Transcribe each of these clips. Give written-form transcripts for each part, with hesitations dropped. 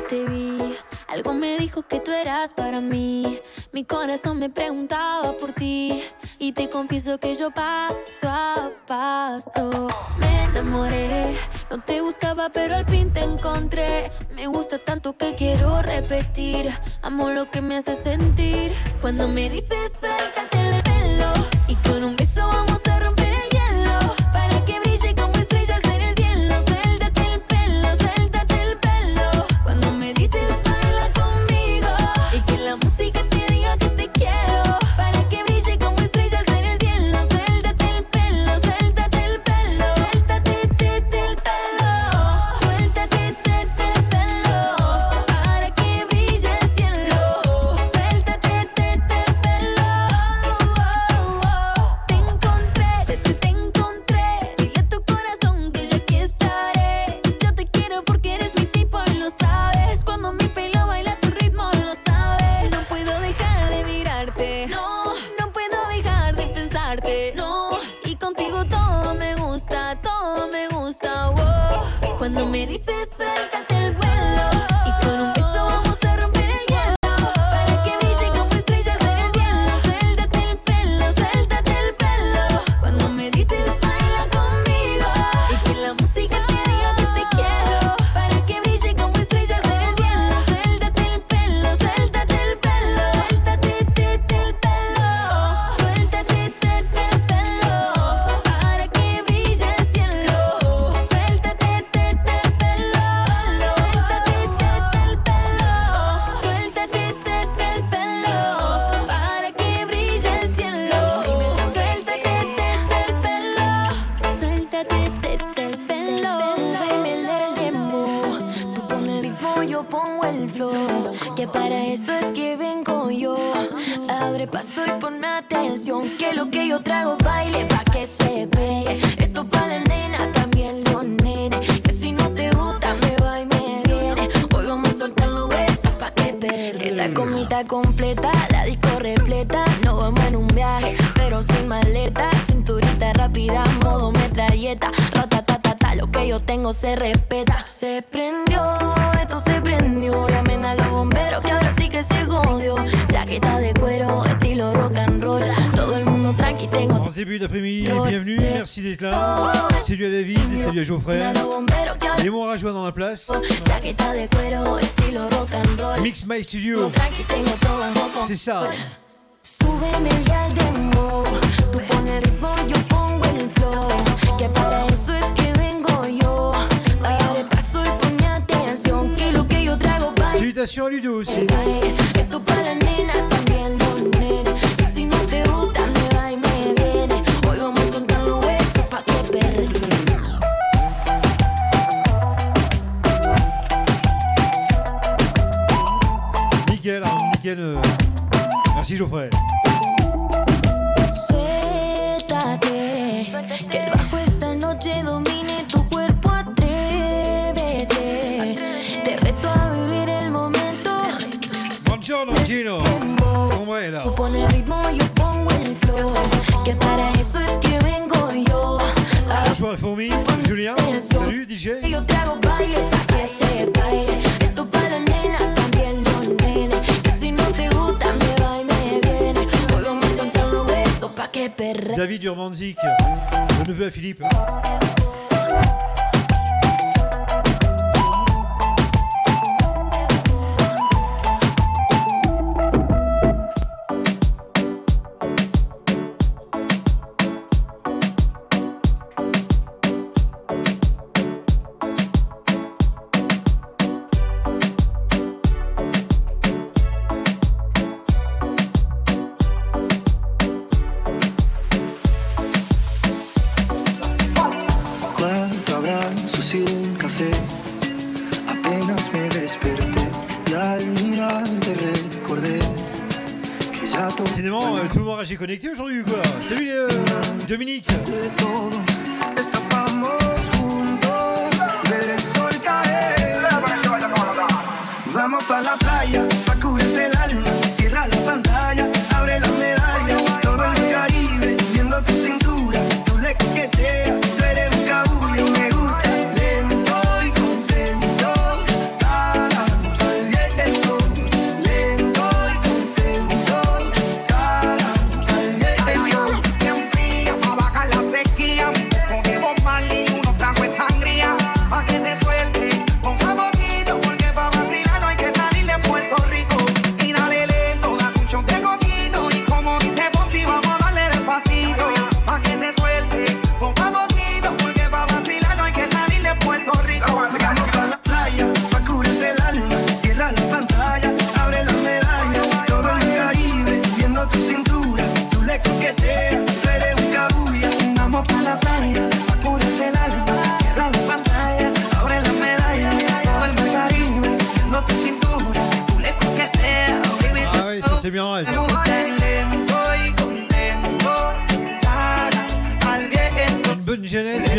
te vi, algo me dijo que tú eras para mí. Mi corazón me preguntaba por ti y te confieso que yo paso a paso me enamoré. No te buscaba pero al fin te encontré. Me gusta tanto que quiero repetir. Amo lo que me hace sentir. Cuando me dices suéltate el pelo y con un beso vamos a romper el hielo para que brille como estrellas en el cielo. Suéltate el pelo, suéltate el pelo. Cuando me dices baila conmigo y que la música te diga que te quiero para que brille como estrellas en el cielo. Suéltate el pelo, suéltate el pelo. Suéltate el pelo. Suéltate el pelo para que brille el cielo. Suéltate el pelo. Te encontré. Dile a tu corazón que yo aquí estaré. Yo te quiero porque eres mi tipo y lo sabes. Cuando mi pelo baila tu ritmo lo sabes. No puedo dejar de mirarte. No, no puedo dejar de pensarte. No, y contigo todo me gusta, wow. Cuando me dices suéltate el vuelo y con un beso vamos a romper el hielo para que brille como estrellas en el cielo. Suéltate el pelo. Cuando me dices baila conmigo y que la música te diga que te quiero para que brille como estrellas en el cielo. Suéltate el pelo. Suéltate el pelo. Suéltate el pelo. Suéltate el pelo para que brille el cielo. Suéltate el pelo. Suéltate el pelo. Suéltate el pelo para que brille el cielo. Suéltate el pelo. Suéltate el pelo. Súbeme el demo, tú pones el ritmo, yo pongo el flow. Que para eso es que vengo yo. Abre paso y ponme atención. Que lo que yo trago baile pa' que se pegue. Esto pa' la nena, también los nenes. Que si no te gusta me va y me viene. Hoy vamos a soltar los besos pa' que perre. Esta comida completa, la disco repleta. No vamos en un viaje, pero sin maleta. Cinturita rápida, modo metralleta. Ratatatata, lo que yo tengo se respeta. Se prendió, esto se prendió. Llamen a los bomberos que ahora sí que se jodió. Chaqueta de cuero, estilo rock and roll. Todo el mundo tranqui, tengo. En ce début d'après-midi, bienvenue, merci d'être là. Salut à David, salut à Geoffrey. Les mots à joie dans la place. Chaqueta de cuero, estilo rock and roll. Mix My Studio. C'est ça. Súbeme ya el demo. Tú pones el ritmo, yo pongo el flow. Que para eso es que vengo yo. Abre paso y ponme atención. Que lo que yo trago baila. Salutations à Ludo aussi. Esto para la nena, también los nenes. Y si no te gusta, me va y me viene. Hoy vamos a soltar los besos pa' que perre. Nickel, nickel. Merci Geoffrey. Suéltate, que el bajo esta noche domine tu cuerpo, atrévete. Te reto a vivir el momento. Buongiorno Gino. ¿Cómo es là? Tú pones el ritmo, yo pongo el flow. Que para eso es que vengo yo. Bonjour les fourmis, Julien. Salut DJ. Yo trago baile pa' que se baile. Esto para la nena, también los nenes. Que si no te gusta, me va y me viene. Hoy vamos a soltar los besos pa' que perre. David Urbanzik, le neveu à Philippe. J'ai connecté aujourd'hui ou quoi? Salut Dominique. Vamos pa' la playa, pa' cubrirte el alma. Cierra la pantalla, abre la medalla. Todo en el Caribe, viendo tu cintura. Tú le coqueteas, tú eres un cabullo. Me gusta lento y contento. Cada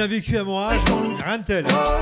a vécu à mon âge, rien de tel.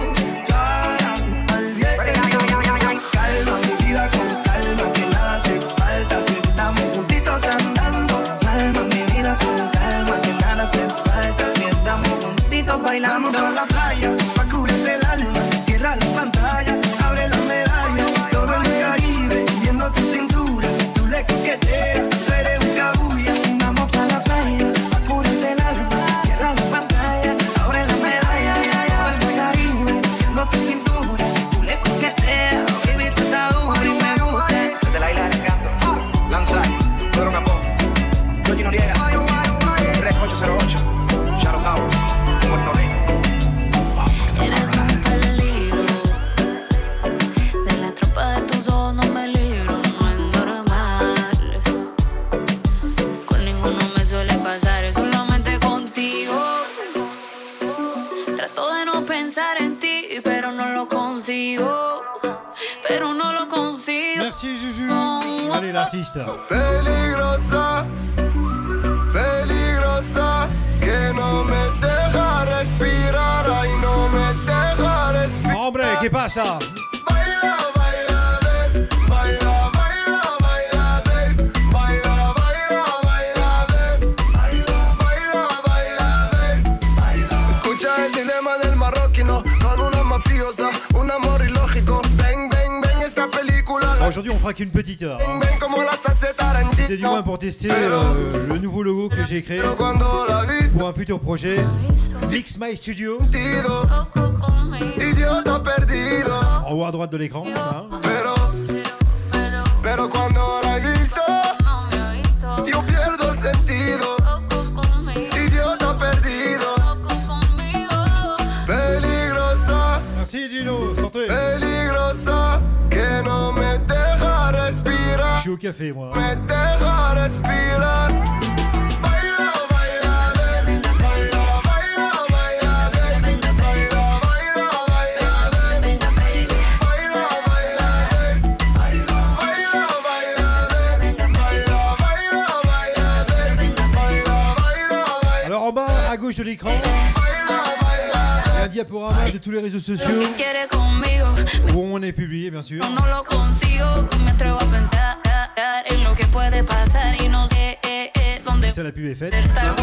Calma mi vida con calma, que nada hace falta si estamos juntitos andando. Calma mi vida con calma, que nada hace falta si estamos juntitos bailando. Vamos pa' la playa, pa' curarte el alma. Cierra la pantalla, abre la medalla. Todo en el Caribe, viendo tu cintura. Tú le coqueteas, tú eres un cabulla. Vamos pa' la playa, pa' curarte el alma. Cierra la pantalla, abre la medalla. Todo en el Caribe, viendo tu cintura. Tú le coqueteas. Pedro Capó, Yogi Noriega, 3808, Shadow Towers, Puerto Rico. Eres un peligro, de la tropa de tus ojos no me libro, no es normal. Con ninguno me suele pasar, es solamente contigo. Trato de no pensar en ti, pero no lo consigo. Pero no lo consigo. Merci Juju. Allez l'artiste. Peligrosa, peligrosa, que no me deja respirar, ay no me deja respirar. Hombre, ¿qué pasa? Baila, baila, babe, baila, baila, baila, babe, baila, baila, baila, babe, baila, baila, baila, babe, baila. Escucha el dilema del marroquino con una mafiosa, un amor ilógico. Ven, ven, ven esta película. Aujourd'hui, on fera qu'une petite heure. C'était du moins pour tester le nouveau logo que j'ai créé pour un futur projet. Mix My Studio. En haut à droite de l'écran. Hein. Pero cuando la he visto, yo pierdo el sentido. Idiota perdido. Peligrosa. Merci Gino, sortez. Peligrosa, que no me deja respirar. Je suis au café moi. Me deja respirar. Baila, baila, baby. Baila, baila, baila, baby. Baila, baila, baila, baby. Baila, baila, baby. Baila, baila, baila, baby. Baila, baila, baila, baby. Baila, baila, baila. Alors en bas à gauche de l'écran, il y a un diaporama de tous les réseaux sociaux où on est publié bien sûr. Ça la pub est faite.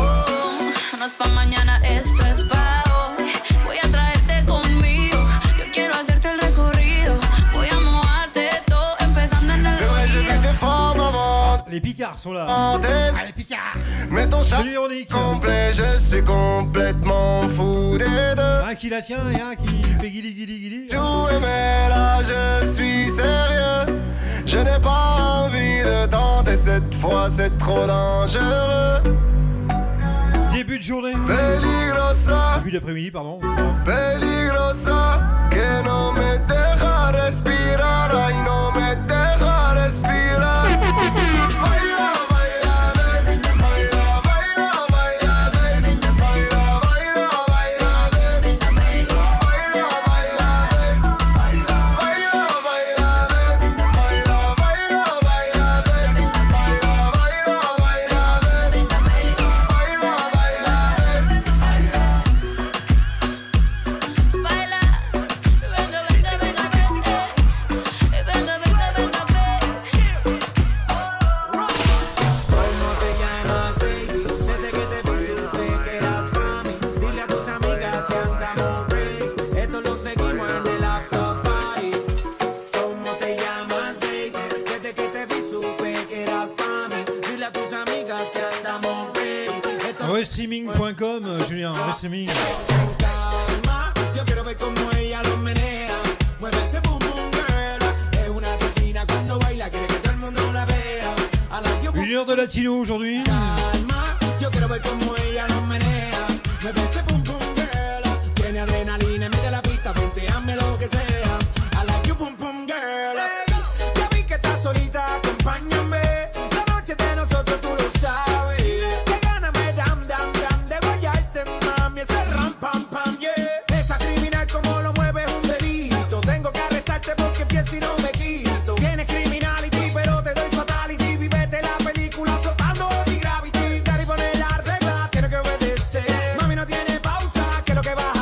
Les Picards sont là. Ah, les Picards. Mais ton chat ironique. Complet, je suis complètement fou des deux. Un qui la tient et un qui fait guili guili guili. Mais là je suis sérieux. Je n'ai pas envie de tenter cette fois, c'est trop dangereux. Début de journée. Peligrosa. Début d'après-midi, pardon. Peligrosa, que no me deja respirar, ay no me deja respirar. Baila, baila, baby. Baila, baila, baila, baby. Baila, baila, baila, baby. Baila, baila, baila, baby. Baila, baila, baila, baby. Baila, baila, baila, baby. Baila, baila, baila, baby. Baila, baila, baby. Restreaming.com, Julien, Restreaming. Yo quiero ver cómo ella lo menea. Mueve ese boom boom girl. Es una asesina cuando baila, quiere que todo el mundo la vea. Une heure de latino aujourd'hui. Calma, yo quiero ver cómo ella lo menea. Mueve ese boom boom girl. Tiene adrenalina, mete la pista, venteame lo que sea. I like you boom boom girl. Ya vi que estás solita, acompáñame. La noche de nosotros tú lo sabes. Que gana me dam dam dam de guayarte, mami. Ese ram pam pam yeah. Esa criminal como lo mueve es un delito. Tengo que arrestarte porque pienso y no me quito. Tienes criminality pero te doy fatality. Vivete la película flotando en mi gravity. Daddy pone la regla, tiene que obedecer. Mami no tiene pausa, que lo que baja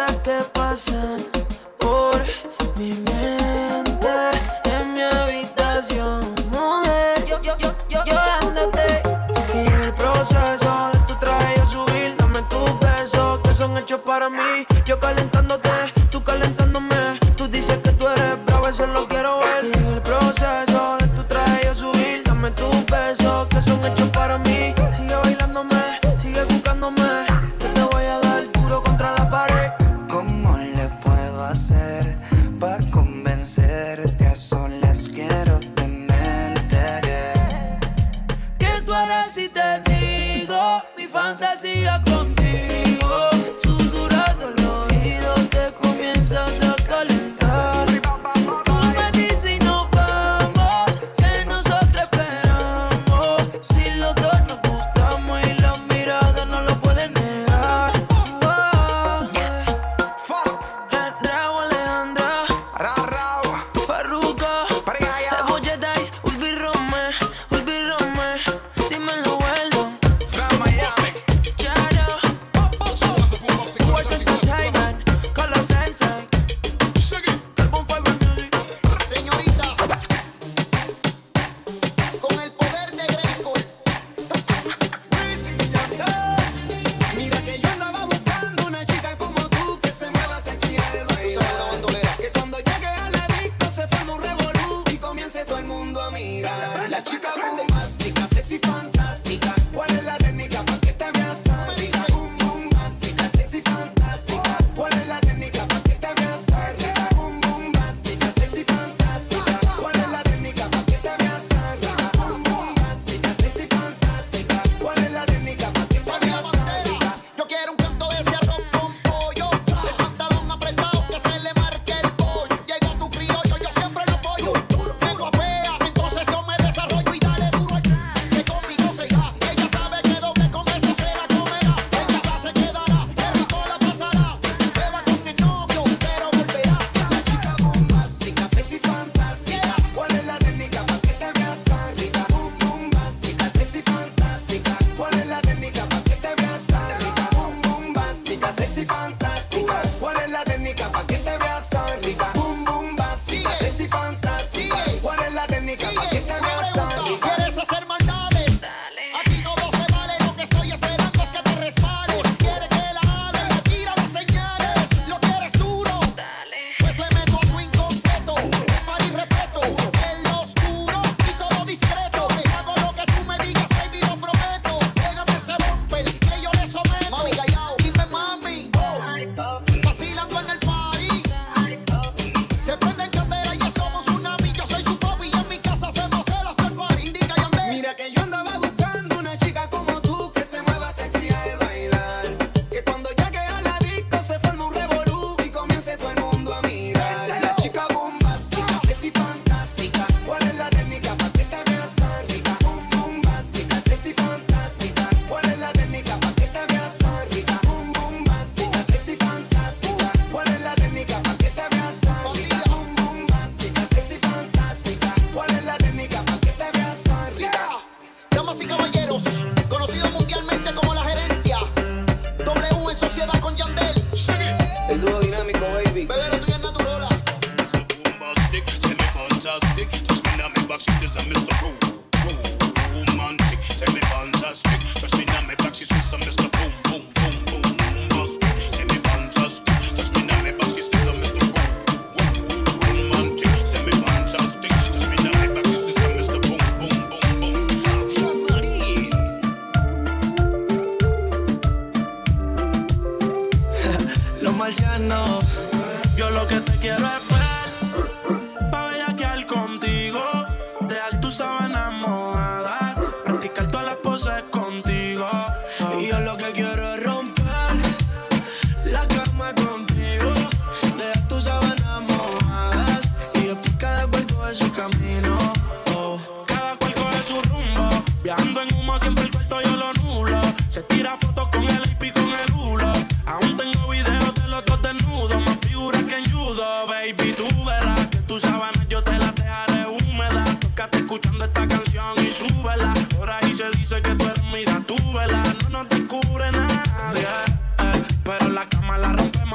cosas que pasan por mi mente, en mi habitación, mujer. Yo dándote que en el proceso de tu traje yo subir, dame tus besos que son hechos para mí. Yo calentándote, tú calentándome. Tú dices que tú eres bravo, eso lo quiero ver. Que en el proceso de tu traje yo subir, dame tus besos que son hechos para mí. Sigue bailándome, sigue buscándome. Yo te voy a dar duro contra la pared. ¿Cómo le puedo hacer pa' convencerte? A solas quiero tenerte. ¿Qué tú harás si te digo mi fantasía contigo? Susurrando el oído te comienzas a calentar. Tú me dices y nos vamos, que nosotros esperamos. Si los dos nos gustamos y la mirada no lo pueden negar. Raúl Alejandra, Farruko, Emoji Dice, Ulvi Rome, dímelo Weldon, Charo, Fuerte Entertainment, Color Sensei, Carbon Fiber Music. Señoritas, con el poder de Greco, mira que yo andaba buscando una chica como tú que se mueva sexy al bailar. Que cuando llegue a la disco se forme un revolú y comience todo el mundo a mirar. La chica bombástica, sexy fantástica, ¿cuál es la técnica pa' que te veas rica? Boom bombástica, sexy fantástica, ¿cuál es la técnica pa' que te veas rica? Boom bombástica, sexy fantástica, ¿cuál es la técnica pa' que te veas rica? Boom bombástica, sexy fantástica, ¿cuál es la técnica pa' que te veas rica? Yo quiero un canto de ese arroz con pollo, el pantalón apretado que se le marque el pollo. Llega tu criollo, yo siempre lo apoyo. Me guapea, entonces yo me desarrollo y dale duro al que conmigo se irá. Ella sabe que doble con eso se la comerá. En casa se quedará, qué rico la pasará. Se va con el novio, pero volverá. La chica bombástica, sexy fantástica, ¿cuál es la técnica pa' que te veas rica? Boom bombástica, sexy fantástica, ¿cuál es la técnica pa' que te veas rica? Boom bombástica, sexy fantástica, ¿cuál es la técnica pa' que te veas rica? Boom bombástica, sexy fantástica, ¿cuál es la técnica pa' que te veas rica? ¿Quieres hacer maldades? Aquí todo se vale, lo que estoy esperando es que te resbales. Quiere que la hable, le tira las señales. Lo quieres duro, pues le meto a swing completo. Para y respeto, en lo oscuro y todo discreto. Hago lo que tú me digas, baby, lo prometo. Pégame ese bumper, que yo le someto. Mami, callao, dime mami. Vacilando en el party. Se prende en candela y es como un tsunami. Yo soy su papi y en mi casa hacemos el after party. Indica Yandel. Mira que yo andaba buscando una chica como tú que se mueva sexy al bailar. Que cuando llegue a la disco se forme un revolú y comience todo el mundo a mirar. La chica bombástica, sexy fantástica, ¿cuál es la técnica pa' que te veas rica? Boom bombástica, sexy fantástica, ¿cuál es la técnica pa' que te veas rica? Boom bombástica, sexy fantástica, ¿cuál es la técnica pa' que te veas rica? Boom bombástica, sexy fantástica, ¿cuál es la técnica pa' que te veas rica? Damas y caballeros, conocido mundialmente como La Gerencia, W en sociedad con Yandel. El dúo dinámico, baby. Bebé, lo tuyo es natural. Bombastic, semi-fantastic. Touch me now, me back, she says I'm Mr. Romantic. Tell me fantastic. Touch me now, me back, she says I'm Mr. Boom, boom, boom, boom. Bombastic, semi-fantastic. Touch me now, me back, she says I'm Mr. Romantic. Semi-fantastic. Touch me now, me back, she says I'm Mr. Boom, boom, boom, boom. Los marcianos, yo lo que te quiero es ver, pa' bellaquear contigo, dejar tus sábanas mojadas, practicar todas las poses contigo. Y yo lo que quiero es romper la cama contigo, dejar tus sábanas mojadas, y después cada cual coge su camino. Cada cual coge su rumbo, viajando en humo siempre el cuarto yo lo nulo. Se tira fotos con el IP con el hulo. Aún tengo videos de los dos desnudos, más figuras que en judo, baby.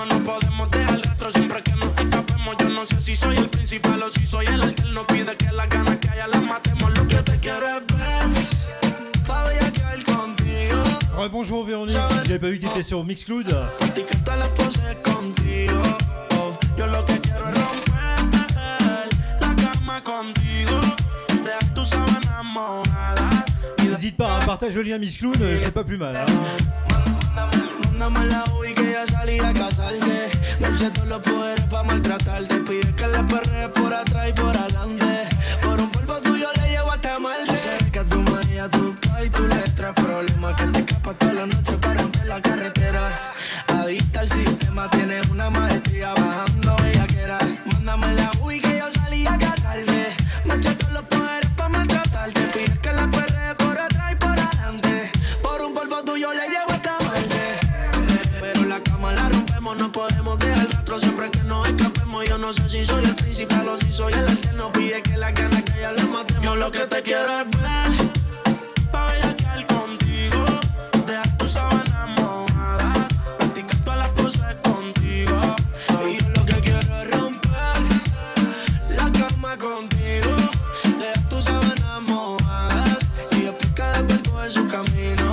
rompemos, no podemos dejar rastro siempre que nos escapemos. Yo no sé si soy el principal o si soy el alterno. Pide que las ganas que haya las matemos. Lo que te quiero es ver, pa' bellaquear contigo. Ouais, bonjour Véronique, j'avais pas vu que t'étais sur Mixcloud. Y que te la poses contigo. Yo lo que quiero es romper la cama contigo. Dejar tus sábanas mojadas. N'hésite pas, hein, partage le lien Mixcloud, c'est pas plus mal. Hein. Mándame la UI que ya salí a casarte. Me eché todos los poderes pa' maltratarte. Pide que la perrees por atrás y por adelante. Por un polvo tuyo le llevo hasta Marte. Tú sabes que a tu magia, tu pa' y tu letra. Problema que te escapas toda la noche para romper la carretera. Adicta al sistema, tienes una maestría bajando bellaquera. Mándame la UI que yo salí a casarte. Me eché todos los poderes pa' maltratarte. Pide que la perrees por atrás y por adelante. Por un polvo tuyo le llevo hasta no podemos dejar rastro siempre que nos escapemos. Yo no sé si soy el principal o si soy el alterno. Pide que las ganas que ya las matemos. Yo lo que te quiero es ver, pa' bellaquear contigo. Dejar tus sábanas mojadas, practicar todas las poses contigo. Y yo lo que quiero es romper la cama contigo. Dejar tus sábanas mojadas y después cada cuerpo en su camino.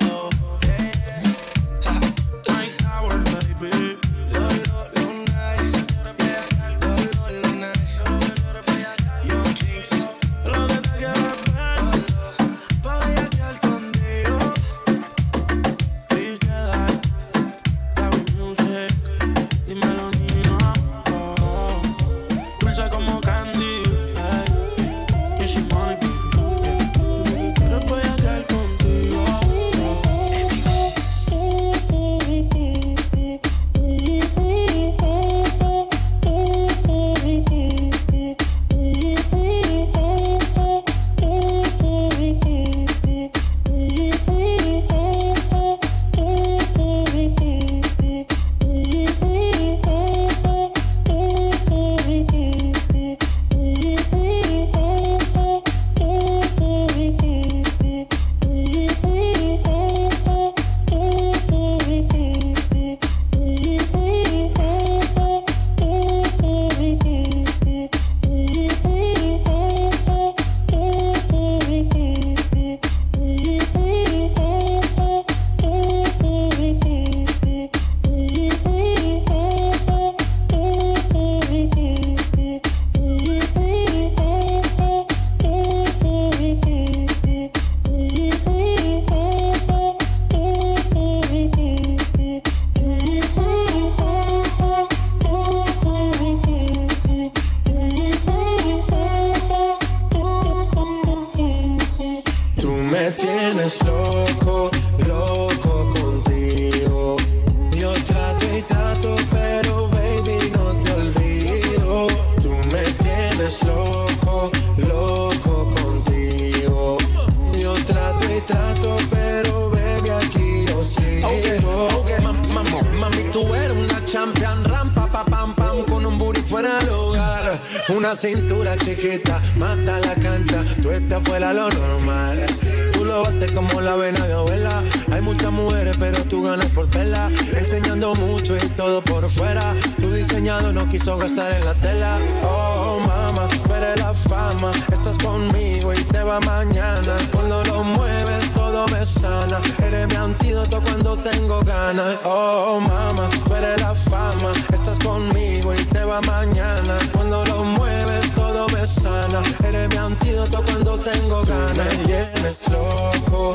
Una cintura chiquita, mata la cancha, tú estás fuera lo normal. Tú lo bates como la vena de abuela. Hay muchas mujeres, pero tú ganas por verla. Enseñando mucho y todo por fuera. Tu diseñado no quiso gastar en la tela. Oh, mama, tú eres la fama. Estás conmigo y te va mañana. Cuando lo mueves, todo me sana. Eres mi antídoto cuando tengo ganas. Oh, mama, tú eres la fama. Estás conmigo y te va mañana. Cuando lo mueves, todo me sana. Eres mi antídoto cuando tengo ganas. Me tienes loco,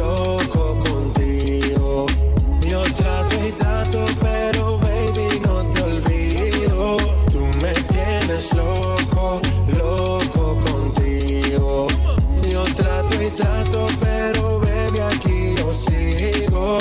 loco contigo. Yo trato y trato, pero baby, no te olvido. Tú me tienes loco, loco contigo. Yo trato y trato, pero baby, aquí yo sigo.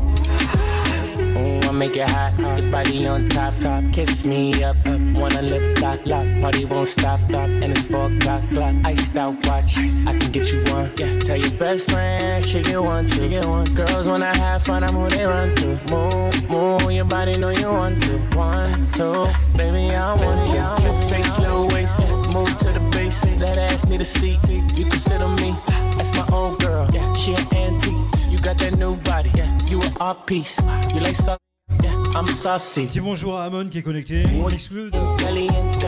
I make it hot, your body on top, top. Kiss me up, wanna lip lock, lock. Party won't stop, and it's 4 o'clock, clock. Iced out watch, I can get you one. Yeah, tell your best friend she get one, she get one. Girls when I have fun, I'm who they run to. Move, move, your body know you want to. 1, 2, baby I want it. Flip face, little waist, move to the base. That ass need a seat, you can sit on me. That's my old girl, yeah, she an antique. You got that new body, yeah, you an art piece. You like suck. Yeah, I'm saucy. Petit bonjour à Amon qui est connecté. On explode. Caliente,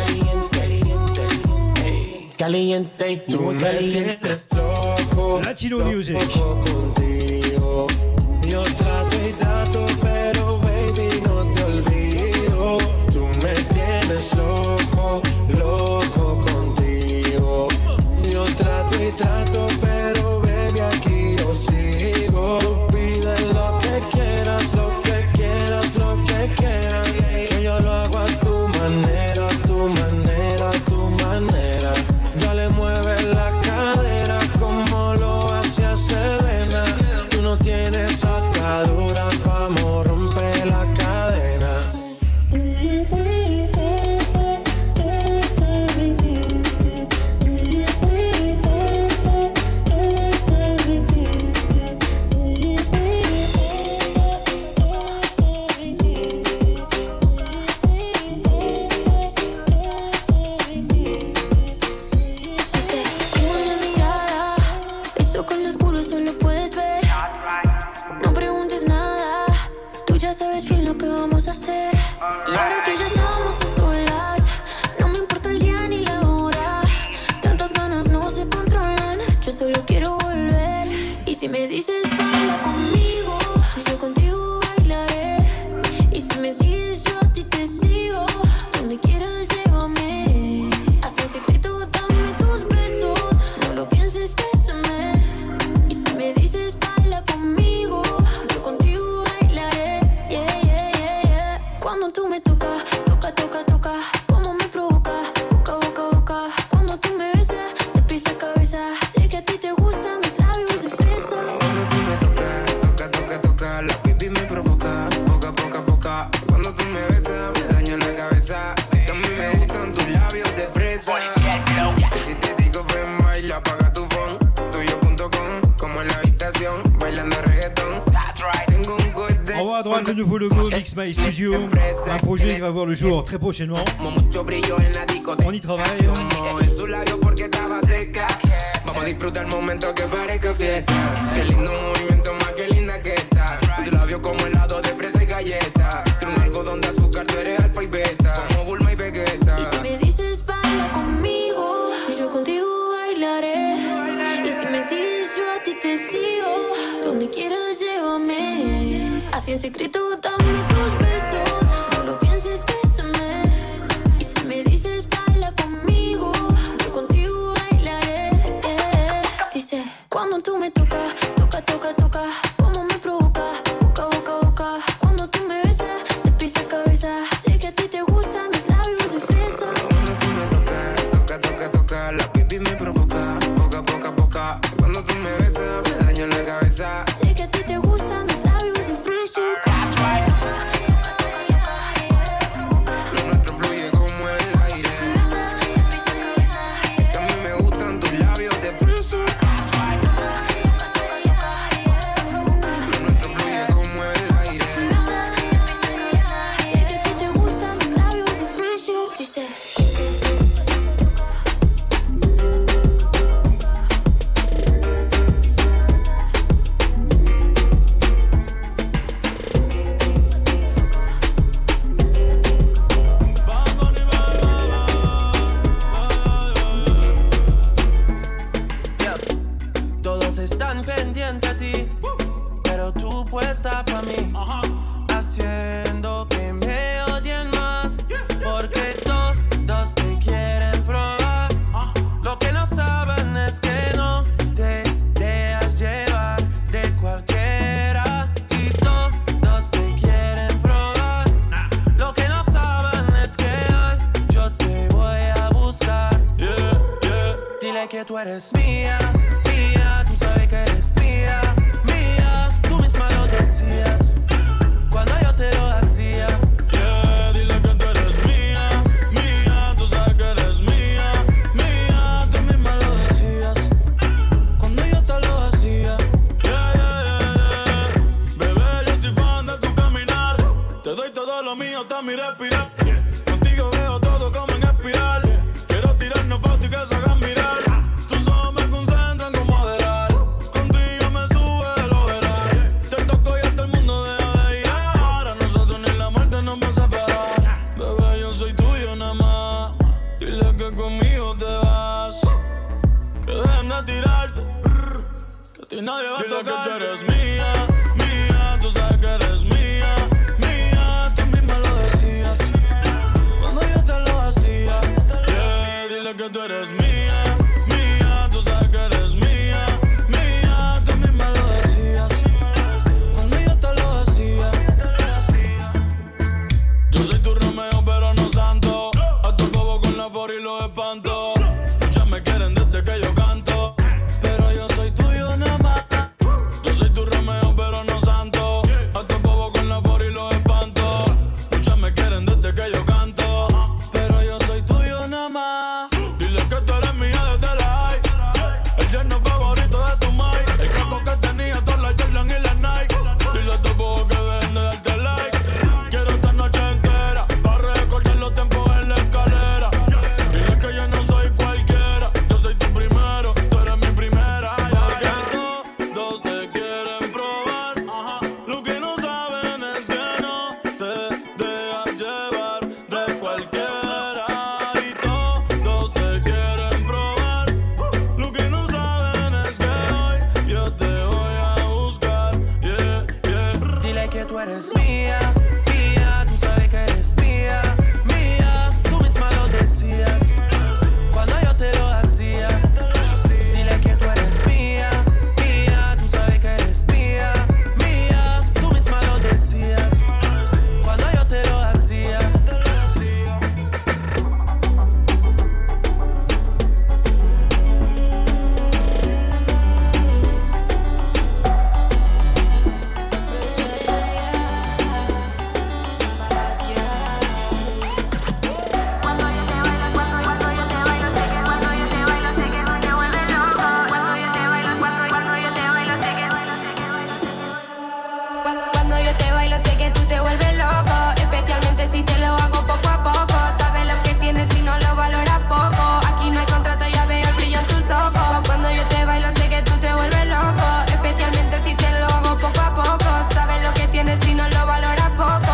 caliente, Tú me tienes loco, Latino Music. loco contigo. Yo trato y trato, pero baby no te olvido. Tú me tienes loco, loco contigo. Yo trato y trato, pero baby aquí yo sigo. Tú pides lo que quieras, lo que quieras, lo que quieras. Que yo lo hago a tu manera, a tu manera, a tu manera. Dale, mueve la cadera como lo hacía Selena. Tú no tienes ataduras, vamos, rompe la cadena. Si me dices baila conmigo, yo contigo bailaré. Y si me sigues yo a ti te sigo. Donde quieras llévame. Así en secreto dame tus besos. No lo pienses, bésame. Y si me dices baila conmigo, yo contigo bailaré. Yeah, yeah, yeah, yeah. Cuando tú me tocas, toca, toca, toca. Como me provoca, boca, boca, boca. Cuando tú me besas, de pies a cabeza. Sé que a ti te gustan mis labios de fresa. Cuando tú me tocas, toca, toca, toca. La pipi me provoca, boca, boca, boca. Cuando tú me besas, me daña la cabeza. Que a mí me gustan tus labios de fresa. Que si te digo ven, baila, apaga tu phone. Tuyo.com, como en la habitación, bailando reggaeton. Tengo un cohete. On va à droite le nouveau logo Mix My Studio. Un projet qui va voir le jour très prochainement. On y travaille. Vamos a disfrutar el momento que parezca fiesta. Qué lindo movimiento, más que linda que está. Tus labios como helado de fresa y galleta. Tiene un algodón de azúcar, tú eres alfa y beta. Como Bulma y Vegeta. Y si me dices baila conmigo, yo contigo bailaré. Y si me sigues yo a ti te sigo. Donde quieras llévame. Así en secreto dame tus besos. No lo pienses, bésame. Y si me dices baila conmigo, yo contigo bailaré. Dice, cuando tú me tocas, toca, toca, toca. Como me provoca, boca, boca, boca. Cuando tú me besas, de pies a cabeza. Sé que a ti te gustan mis labios de fresa. Cuando tú me tocas, toca, toca, toca. La pipi me provoca, boca, boca, boca. Cuando tú me besas, me daña la cabeza. Sé que a ti te gustan mis labios de fresa. Lo nuestro fluye como el aire. Que a mí me gustan tus labios de fresa. Lo nuestro fluye como el aire. Sé que a ti te gustan mis labios de fresa. Dice. Todos están pendientes a ti, pero tú puesta pa' mí, haciendo que me odien más, porque todos te quieren probar. Lo que no saben es que no te dejas llevar de cualquiera, y todos te quieren probar. Lo que no saben es que hoy yo te voy a buscar. Dile que tú eres mía, mía, tú sabes que eres mía, mía. Tú misma lo decías cuando yo te lo hacía. Dile que tú eres mía, mía, tú sabes que eres mía, mía. Tú misma lo decías cuando yo te lo hacía. Bebé, yo soy fan de tu caminar. Te doy todo lo mío, hasta mi respirar. Contigo veo todo como en espiral. Quiero tirarnos fotos y que se hagan mirar. Tus ojos me concentran. nadie va a tocar. Dile que tú eres mía, mía, tú sabes que eres mía, mía, tú misma lo decías cuando yo te lo hacía. Yeah, dile que tú eres mía, mía, tú sabes que eres mía, mía, tú misma lo decías cuando yo te lo hacía. Yo soy tu Romeo pero no santo, a tu bobo con la for y los espanto. Muchas me quieren desde que yo canto, pero yo soy tuyo nada más. Yo soy tu Romeo pero no santo, a tu bobo con la for y los espanto. Muchas me quieren desde que yo canto, pero yo soy tuyo nada más. Dile que tú eres mía desde la high, el yerno favorito de tu mai, el casco que tenía todas las Jordan y las Nike. Dile a tu bobo que dejen de darte like. Quiero esta noche entera para recordar los tiempos en la escalera. Dile que yo no soy cualquiera, yo soy tu primero, tú eres mi primera. Porque todos te quieren probar, lo que no saben es que no te dejas llevar de cualquiera. Y todos te quieren probar, lo que no saben es que hoy yo te voy a buscar. Yeah, yeah. Dile que tú eres mía, mía, tú sabes que eres mía, mía, tú misma lo decías cuando yo te lo hacía. Dile que tú eres mía, mía, tú sabes que eres mía, mía, tú misma lo decías cuando yo te lo hacía. Cuando yo te bailo sé que tú te vuelves loco, especialmente si te lo hago poco a poco. Sabes lo que tienes y no lo valoras poco. Aquí no hay contrato, ya veo el brillo en tus ojos. Cuando yo te bailo sé que tú te vuelves loco, especialmente si te lo hago poco a poco. Sabes lo que tienes y no lo valoras poco.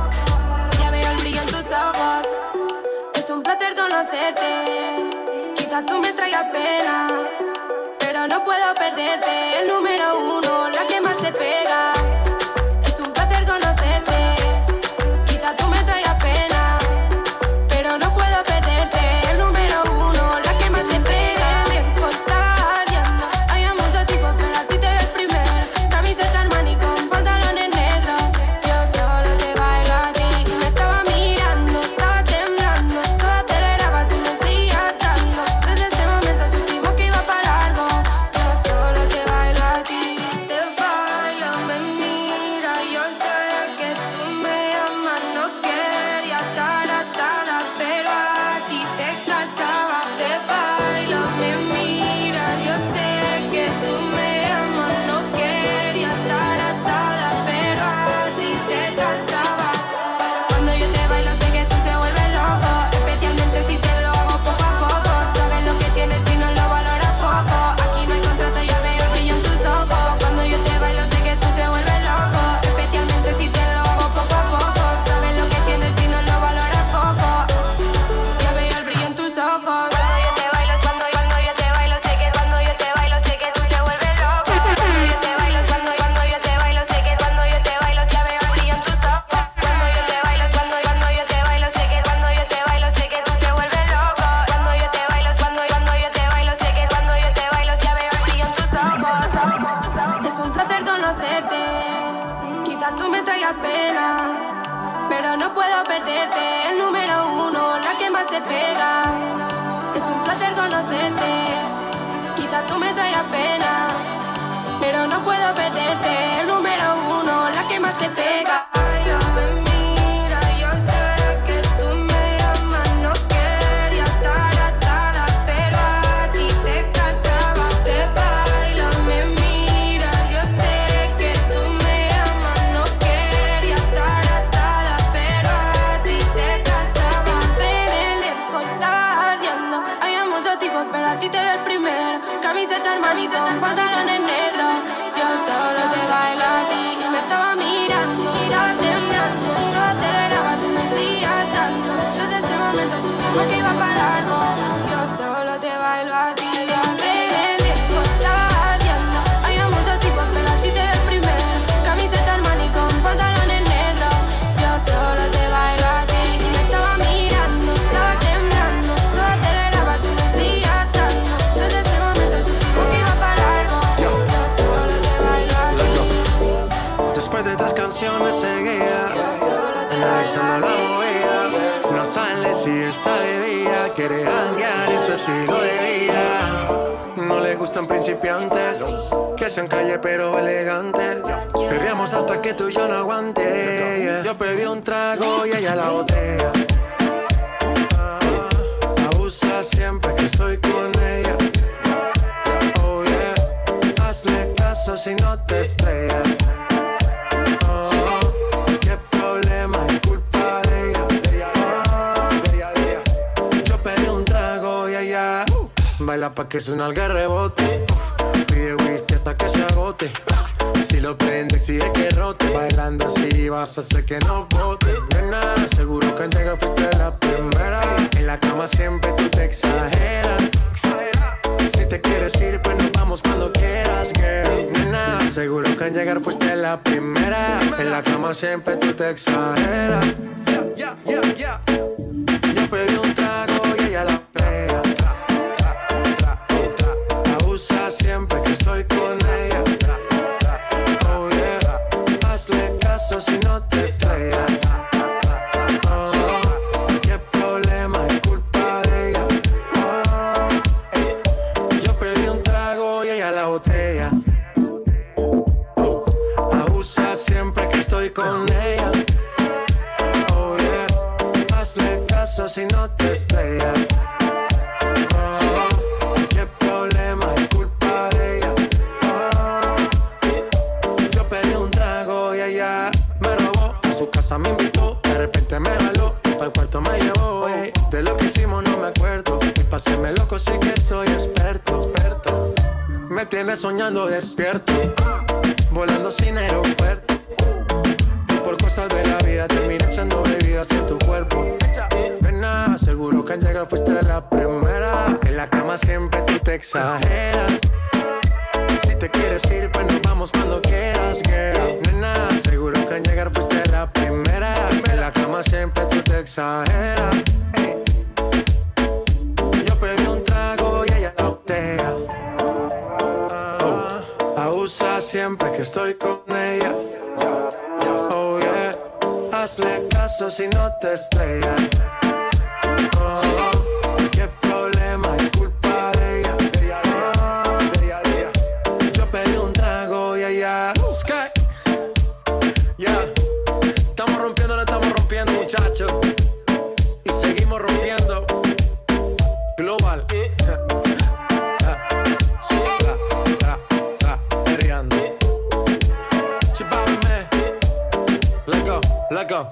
Ya veo el brillo en tus ojos. Es un placer conocerte, quizás tú me traigas pena, pero no puedo perderte. El número uno, la que más te pega. Es un placer conocerte, quizás tú me traigas pena, pero no puedo perderte. El número uno, la que más te pega. El disco estaba ardiendo, había muchos tipos, pero a ti te ves primero. Camiseta Armani con pantalones negros. Yo solo te bailo a ti y me estaba mirando, estaba temblando, todo aceleraba, tú me seguías dando. Desde ese momento supimos que iba para largo. Yo solo te bailo a ti, te bailo, me mira. Yo sé que tú me amas, no quería estar atada, pero a ti te casaba. Te bailo, me mira. Yo sé que tú me amas, no quería estar atada, pero a ti te casaba. Cuando yo te bailo sé que tú te vuelves loco, especialmente si te lo hago poco a poco. Sabes lo que tienes y no lo valoras poco. Aquí no hay contrato, ya veo el brillo en tus ojos. Cuando yo te bailo sé que tú te vuelves loco, especialmente si te lo hago poco a poco. Sabes lo que tienes y no lo valoras poco. Ya veo el brillo en tus ojos. Cuando yo te bailo, cuando yo te bailo sé que cuando yo te bailo sé que tú te vuelves loco. Cuando yo te bailo, cuando yo te bailo sé que cuando yo te bailo ya veo el brillo en tus ojos. Cuando yo te bailo, cuando yo te bailo sé que cuando yo te bailo sé que tú te vuelves loco. Cuando yo te bailo, cuando yo te bailo sé que cuando yo te bailo ya veo el brillo en tus ojos. Es un placer conocerte, quizás tú me traigas pena, pero no puedo perderte. El número uno, la que más te pega. Es un placer conocerte, quizás tú me traigas pena, pero no puedo perderte. El número uno, la que más te pega. Me mira, yo sé que tú me amas, no quería estar atada, pero a ti te casaba. Te bailo, me mira, yo sé que tú me amas, no quería estar atada, pero a ti te casaba. Entré en el disco, estaba ardiendo, había muchos tipos, pero a ti te ves primero. Camiseta Armani con pantalones negros. Yo solo te bailo a ti y me estaba mirando, estaba temblando, todo aceleraba, tú me seguías dando. Desde ese momento supimos que iba para largo. Yo solo te bailo a ti. Entré en el disco, estaba ardiendo, había muchos sale si está de día. Quiere janguear y su estilo de vida. No le gustan principiantes, que sean calle pero elegantes. Perreamos hasta que tú y yo no aguante. Yo pedí un trago y ella la botella. Abusa siempre que estoy con ella. Oh yeah, hazle caso si no te estrellas. Qué problema es culpa de ella. Yo pedí un trago y ella baila pa' que suena el rebote. Pide whisky hasta que se agote. Si lo prende exige que rote. Bailando así vas a hacer que no bote. Nena, seguro que al llegar fuiste la primera. En la cama siempre tú te exageras. Si te quieres ir pues nos vamos cuando quieras, girl. Nena, seguro que al llegar fuiste la primera. En la cama siempre tú te exageras. Yo pedí un trago y ella la pega. Abusa siempre que estoy con ella. Oh yeah, hazle caso si no te estrellas. Qué problema es culpa de ella. Yo pedí un trago y ella la botella. Abusa siempre que estoy con ella. Oh yeah, hazle caso si no te estrellas. Qué problema es culpa de ella. Yo pedí un trago y ella me robó. A su casa me invitó, de repente me jaló. Para el cuarto me llevó. De lo que hicimos no me acuerdo. Y pa' hacerme loco sí que soy experto. Me tienes soñando despierto, volando sin aeropuerto. Y por cosas de la vida terminé echando bebidas en tu cuerpo. Nena, seguro que al llegar fuiste la primera. En la cama siempre tú te exageras. Si te quieres ir pues nos vamos cuando quieras, girl. Nena, seguro que al llegar fuiste la primera. En la cama siempre tú te exageras. Yo pedí un trago y ella la botella. Abusa siempre que estoy con ella. Oh yeah, hazle caso si no te estrellas. Qué problema es culpa de ella. Yo pedí un trago y ella Sky. Yeah, estamos rompiendo muchachos. Y seguimos rompiendo. Global. Let go.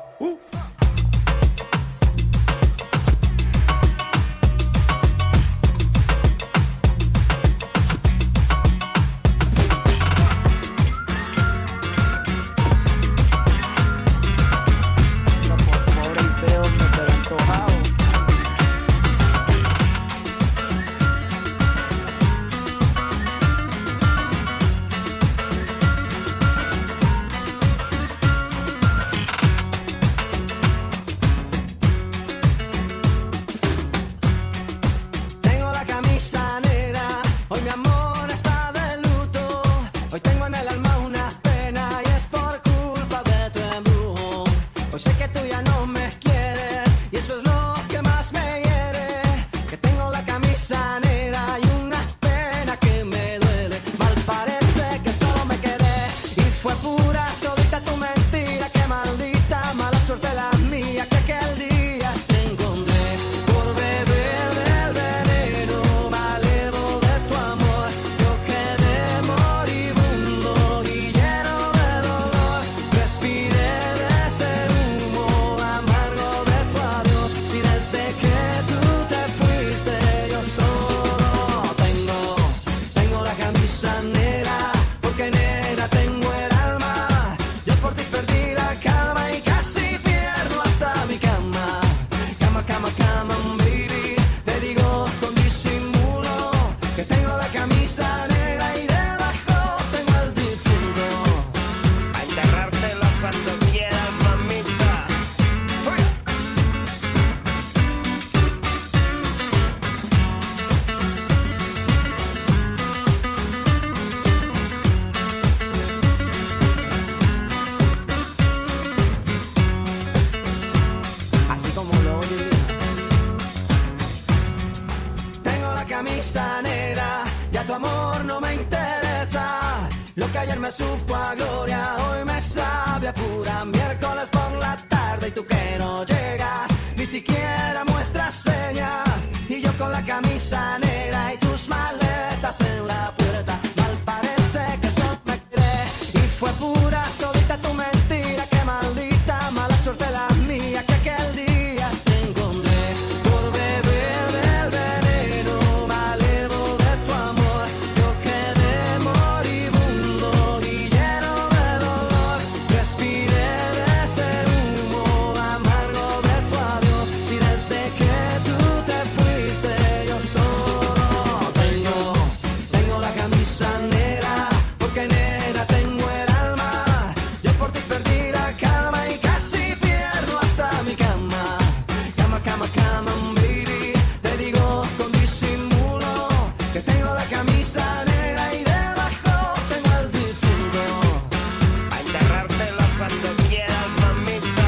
camisa negra, ya tu amor no me interesa. Lo que ayer me supo a gloria, hoy me sabe a pura. Miércoles por la tarde y tú que no llegas, ni siquiera muestras señas. Y yo con la camisa negra y tus maletas en la puerta. Mal parece que eso me quedé y fue pura todita tu mentira. Qué maldita mala suerte la mía que aquel día te encontré por beber del veneno malevo de tu amor. Yo quedé moribundo y lleno de dolor. Respiré de ese humo amargo de tu adiós. Y desde que tú te fuiste yo solo tengo la camisa negra, porque negra tengo el alma. Yo por ti perdí la calma y casi pierdo hasta mi cama. Cama, cama, cama, baby. Te digo con disimulo que tengo la camisa negra y debajo tengo el difunto. A enterrártela cuando quieras, mamita.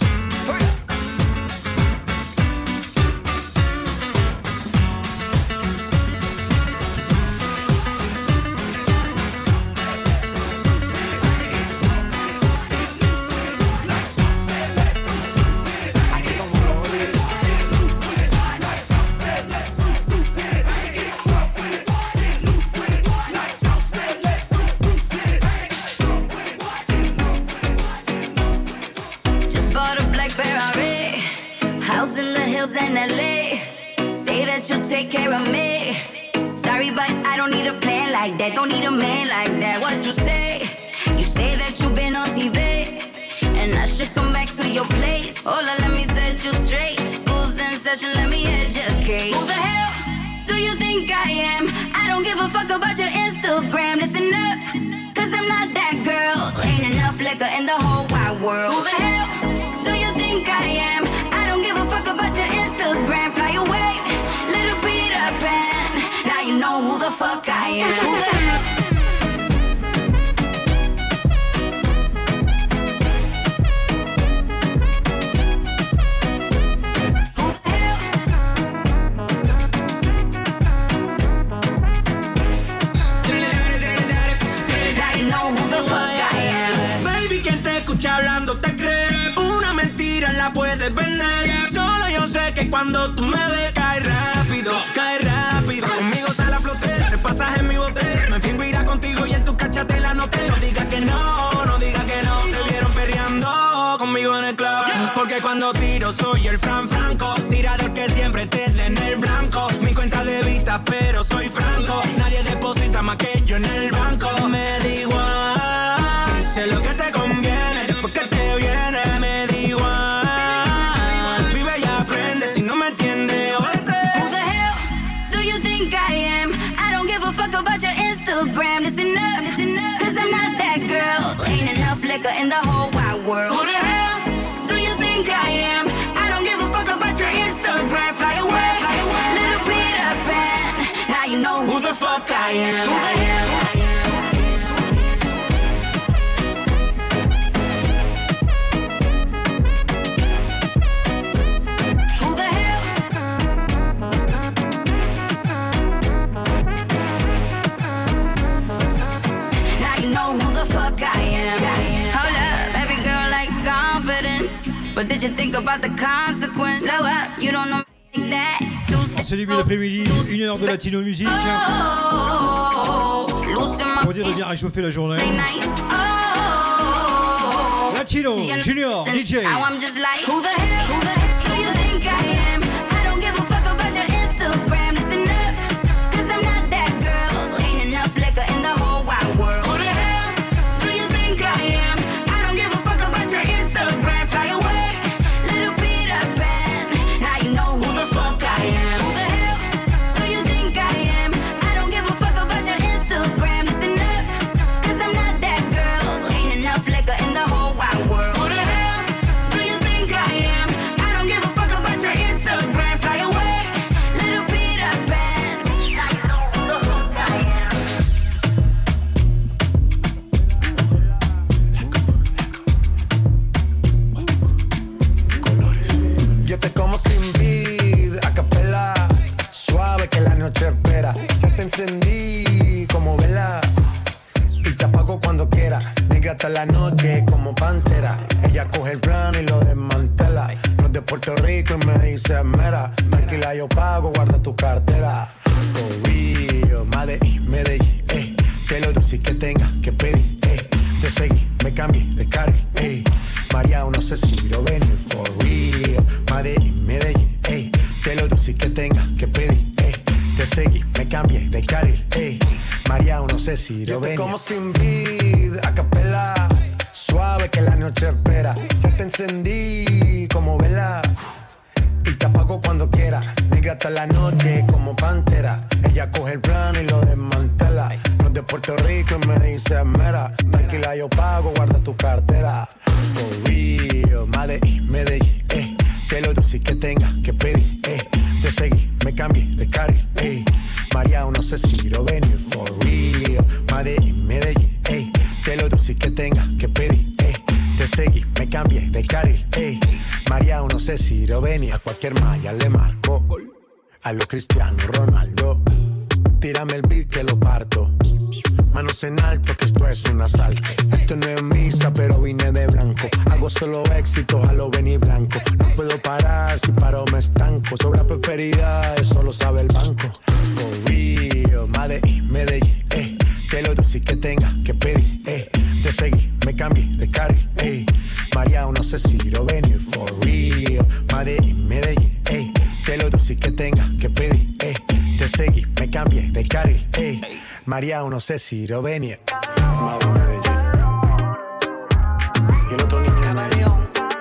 Just bought a black Ferrari, house in the hills in LA. Say that you'll take care of me. Sorry, but I don't need a plan like that. Don't need a man like that. What you say? You say that you've been on TV, and I should come back to your place. Hola, let me set you straight. School's in session, let me educate. Who the hell do you think I am? I don't give a fuck about your Instagram. Listen up, cause I'm not that girl. Ain't enough liquor in the whole wide world. Who the hell do you think I am? I don't give a fuck about your Instagram. Fly away, little Peter Pan. Now you know who the fuck I am. Who the hell? Now you know who the fuck I am. Baby, quien te escucha hablando te cree. Una mentira la puedes vender. Solo yo sé que cuando tú me ves cae rápido, cae rápido. Conmigo sale a flote, te pasas en mi bote. Me fingo irá contigo y en tu cacha te la noté. No digas que no, no digas que no. Te vieron perreando conmigo en el club. Porque cuando tiro soy el Franco, tirador que siempre te da en el blanco. Mi cuenta de vista, pero soy franco. Nadie deposita más que yo en el banco. Me da igual, sé lo que te conviene. Después que te viene, me da igual. Vive y aprende, si no me entiendes, oíste. Who the hell do you think I am? I don't give a fuck about your Instagram. Listen up, cause I'm not that girl. Ain't enough liquor in the whole wide world. Who the hell do you think I am? I don't give a fuck about your Instagram. Fly away, little Peter Pan. Now you know who the fuck I am. Who the hell? Who the hell? Now you know who the fuck I am. Hold up, every girl likes confidence, but did you think about the consequence? Slow up, you don't know me like that. En ce début d'après-midi, 1 heure de latino musique. Pour dire de bien réchauffer la journée. Latino, Junior, DJ. Now I'm just like, who the hell do you think I am? I don't give a fuck about your Instagram. Listen up, cause I'm not that girl. Ain't enough liquor in the whole wide world. Who the hell do you think I am? I don't give a fuck about your Instagram. Fly away, little Peter Pan. Now you know who the fuck I am. Who the hell do you think I am? I don't give a fuck about your Instagram. Listen up, cause I'm not that girl. Ain't enough liquor in the whole wide world. Who the hell do you think I am? I don't encendí como vela y te apago cuando quiera. Negra hasta la noche como pantera. Ella coge el plano y lo desmantela. No es de Puerto Rico y me dice mera. Tranquila, yo pago, guarda tu cartera. For real, Medellín, que lo dulce que tenga que pedir, te seguí, me cambié de carril, María, no sé si lo ven. For real, Medellín, que lo dulce que tenga que pedir, te seguí, me cambié de carril, María, no sé si lo ven. Yo te como sin vid, a capela, suave que la noche espera. Ya te encendí como vela y te apago cuando quiera. Negra hasta la noche como pantera. Ella coge el plano y lo desmantela. No es de Puerto Rico y me dice mera. Tranquila, yo pago, guarda tu cartera. For real, Medellín, que lo dulce que tenga que pedir, te seguí, me cambié de carril, María, no sé si lo venir. For real, Medellín, que lo dulce que tenga que pedir, te seguí, me cambié de carril, María, no sé si lo venir. A cualquier malla le marco, a lo Cristiano Ronaldo. Tírame el beat que lo parto. Manos en alto, que esto es un asalto. Esto no es misa, pero vine de blanco. Hago solo éxitos a lo venir blanco. No puedo parar, si paro me estanco. Sobra prosperidad, eso lo sabe el banco. For real, Medellín, que lo dulce que tenga que pedir, te seguí, me cambié de carril, María, no sé si lo venir. For real, Medellín, que lo dulce que tenga que pedir, te seguí, me cambié de carril, María, no sé si lo venir. Medellín. Y el otro niño de Medellín.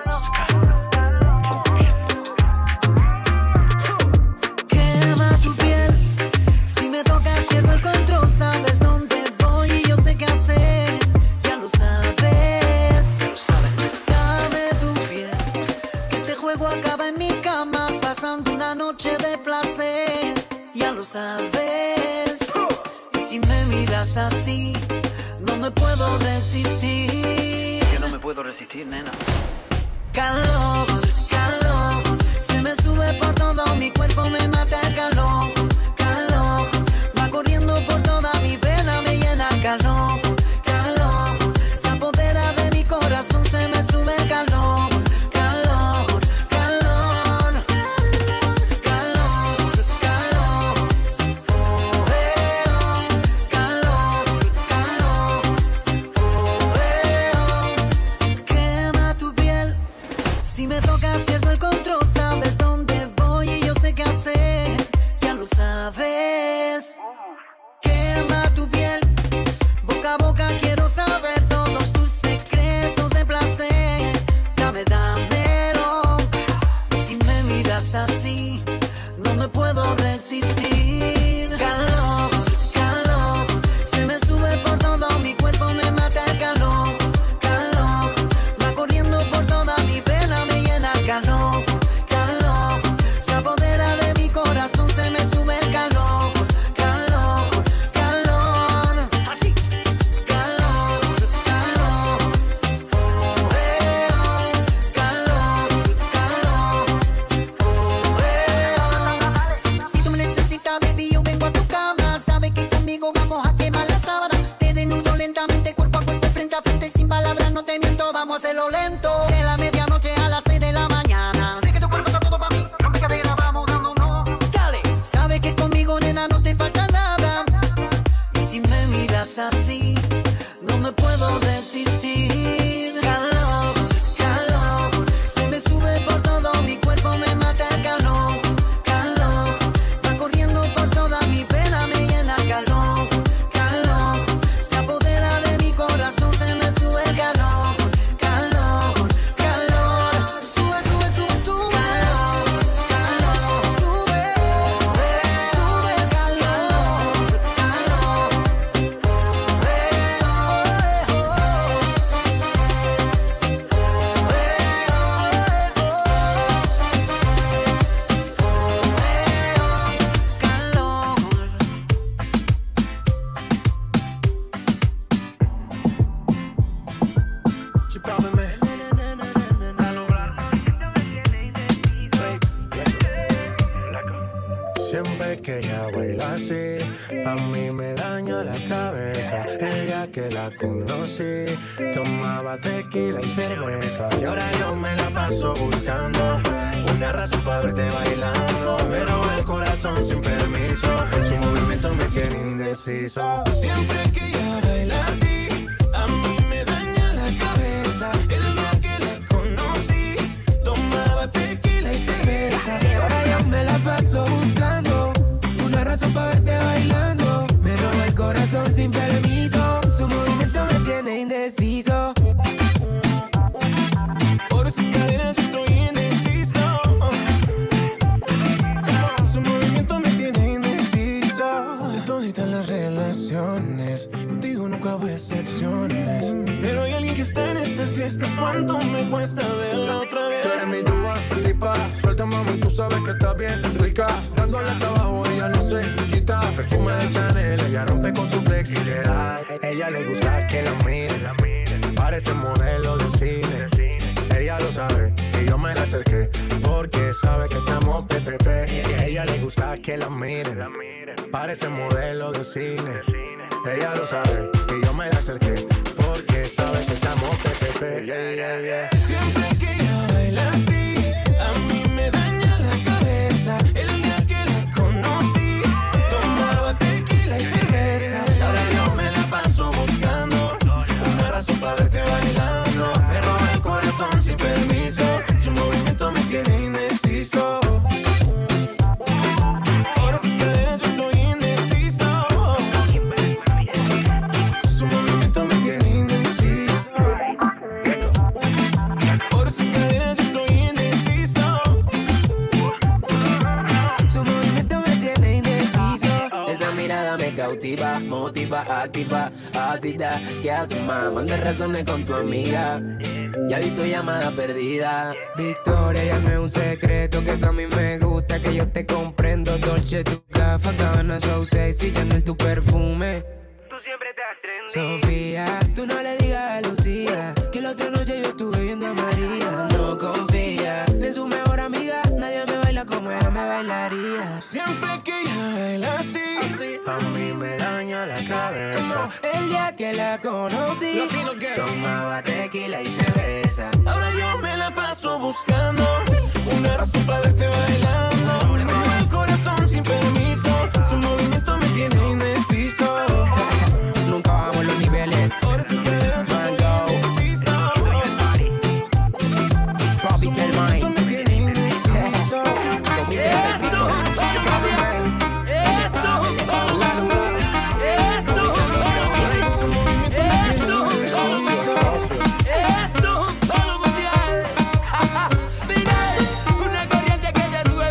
Quema tu piel, si me tocas pierdo el control. Sabes dónde voy y yo sé qué hacer, ya lo sabes. Dame tu piel, que este juego acaba en mi cama, pasando una noche de placer, ya lo sabes. Y si me miras así, no me puedo resistir. Yo no me puedo resistir, nena. Calor, calor, se me sube por todo mi cuerpo, me mata el calor. Calor, va corriendo por toda mi vena, me llena calor. Calor, se apodera de mi corazón, se me sube el calor. Calor, calor, calor, calor, oh, calor, calor, oh, quema tu piel. Si me tocas pierdo el control, sabes dónde voy y yo sé qué hacer, ya lo sabes. Quema tu piel, boca a boca quiero saber todos tus secretos de placer. Dame, dámelo, y si me miras así, no me puedo resistir. Calor, calor, se me sube por todo mi cuerpo, me mata el calor. Calor, va corriendo por toda mi vena, me llena el calor. Calor, se apodera de mi corazón, se me sube el calor. Calor, calor, así. Calor, calor, oh, calor, calor, oh, si tú me necesitas, baby, yo vengo a tu cama. Siempre que ella baila así, a mí me daña la cabeza. El día que la conocí, tomaba tequila y cerveza. Y ahora yo me la paso buscando una razón para verte bailando. Me roba el corazón sin permiso, su movimiento me tiene indeciso. Siempre que ella baila así, a mí me daña la cabeza. El día que la conocí, tomaba tequila y cerveza. Y ahora yo me la paso buscando una razón para verte bailando. Me roba el corazón sin permiso, su movimiento me tiene indeciso. Por esas cadenas yo estoy indeciso. Su movimiento me tiene indeciso. De toditas las relaciones, contigo nunca hubo excepciones. Pero hay alguien que está en esta fiesta. ¿Cuánto me cuesta verla otra vez? Tú eres mi Dua Lipa, suelta mami, tú sabes que está bien rica. Dándole hasta abajo, ella no se quita. Perfume de Chanel, ella rompe con su flexibilidad. Ella le gusta que la miren, parece modelo de cine. Ella lo sabe y yo me la acerqué porque sabe que estamos PPP. Y a ella le gusta que la miren, parece modelo de cine. Ella lo sabe y yo me la acerqué porque sabe que estamos PPP. Yeah, yeah, yeah. Siempre que ella baila así, a mí me daña la cabeza. El día que la conocí, tomaba tequila y cerveza. Ahora yo me la paso buscando una razón para verte bailando. Me roba el corazón sin permiso, su movimiento me tiene indeciso. Por esas cadenas yo estoy indeciso. Su movimiento me tiene indeciso. Por esas cadenas yo estoy indeciso. Su movimiento me tiene indeciso. Esa mirada me cautiva, motiva, activa, ácida. ¿Qué haces, más? Manda razones con tu amiga. Ya vi tu llamada perdida. Victoria, ya no es un secreto que tú a mí me gusta, que yo te comprendo. Dolce, tu gafa, Gabbana, so sexy, Chanel, tu perfume. Tú siempre estás trendy. Sofía, tú no le digas a Lucía que la otra noche yo estuve viendo a María. No confía en su mejor amiga, nadie me baila como ella me bailaría. Siempre que ella baila así, a mí me daña la cabeza. El día que la conocí, tomaba tequila y cerveza. Ahora yo me la paso buscando una razón para verte bailando. Me roba el corazón sin permiso, su movimiento me tiene indeciso. Nunca bajamos los niveles. Mango, Tropical Mind. Una corriente que te sube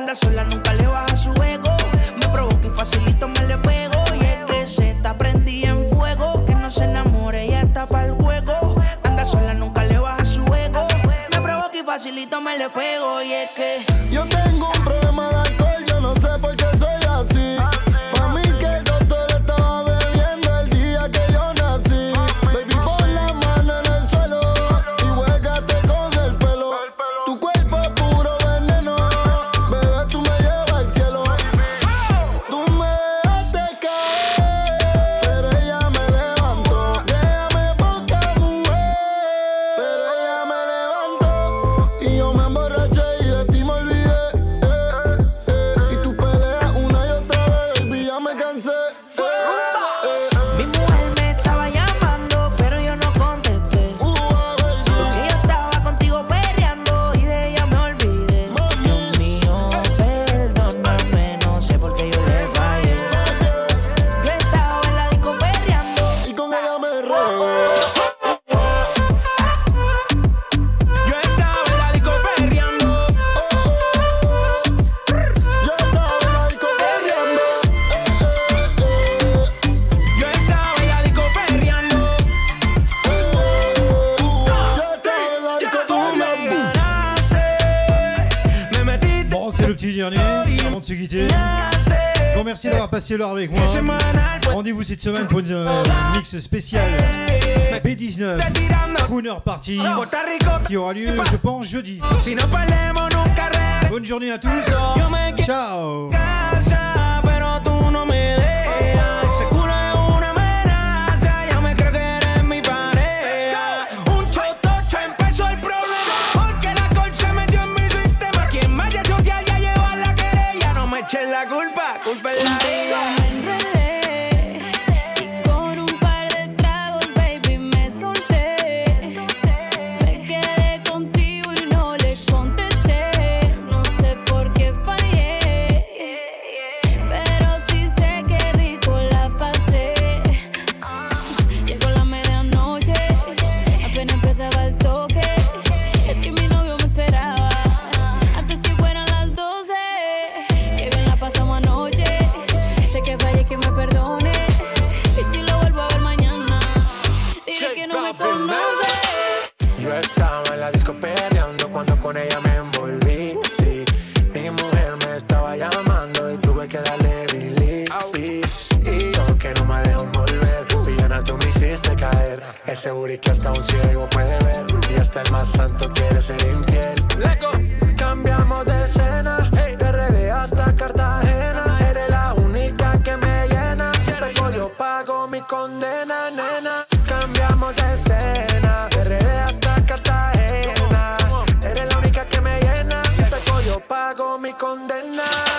anda sola, nunca le baja su ego. Me provoca y facilito me le pego. Y es que se está prendida en fuego. Que no se enamore, ella está pa'l juego. Anda sola, nunca le baja su ego. Me provoca y facilito me le pego. Y es que yo tengo un problema de alcohol, yo no sé por qué soy así. Pa' mí que el doctor estaba bebiendo el día que yo nací. Baby, pon la mano en el suelo y juégate con el pelo. Tu cuerpo es puro veneno, bebé, tú me llevas al cielo. Tú me dejaste caer, pero ella me levantó. Déjame poca mujer, pero ella me levantó. Y yo me emborraché y de ti me olvidé. Y tú peleas una y otra vez, baby, ya me cansé. mi mujer me estaba llamando, pero yo no contesté. Porque yo estaba contigo perreando y de ella me olvidé. Dios mío, perdóname, no sé por qué yo le fallé. Yo estaba en la disco perreando y con ella me regué. Yo estaba en la disco perreando. Yo estaba en la disco perreando. Yo estaba en la disco perreando. Yo estaba en la disco perreando. Me metiste. Bon, c'est le petit dernier, avant de se quitter. Je vous remercie d'avoir passé l'heure avec moi. Rendez-vous cette semaine pour une mix spéciale B19 Crooner Party qui aura lieu, je pense, jeudi. Bonne journée à tous. Ciao. Pero tú no me dejas. Ese culo es una amenaza. Ya me creo que eres mi pareja. Un chotocho empezó el problema. Porque la alcohol se metió en mi sistema. Quien vaya a chotear ya lleva la querella. No me echen la culpa, culpa es la Contigo me enredé y con un par de tragos, baby, me solté. Me quedé contigo y no le contesté. No sé por qué fallé, pero sí sé que rico la pasé. Llegó la medianoche, apenas empezaba el toque. Es que mi novio me esperaba antes que fueran las 12. Que bien la pasamos anoche. Sé que fallé, que me perdone. Y si lo vuelvo a ver mañana, diré que no me conoce. Yo estaba en la disco perreando cuando con ella me envolví. Sí, mi mujer me estaba llamando y tuve que darle delete. Y yo que no me dejo volver, villana, tú me hiciste caer. Ese booty que hasta un ciego puede ver y hasta el más santo quiere ser infiel. Cambiamos de escena, de RD hasta Cartagena. Eres la única que me llena. Si pego yo pago mi condena, nena. Cambiamos de escena, de RD hasta Cartagena. Eres la única que me llena. Si pego yo pago mi condena.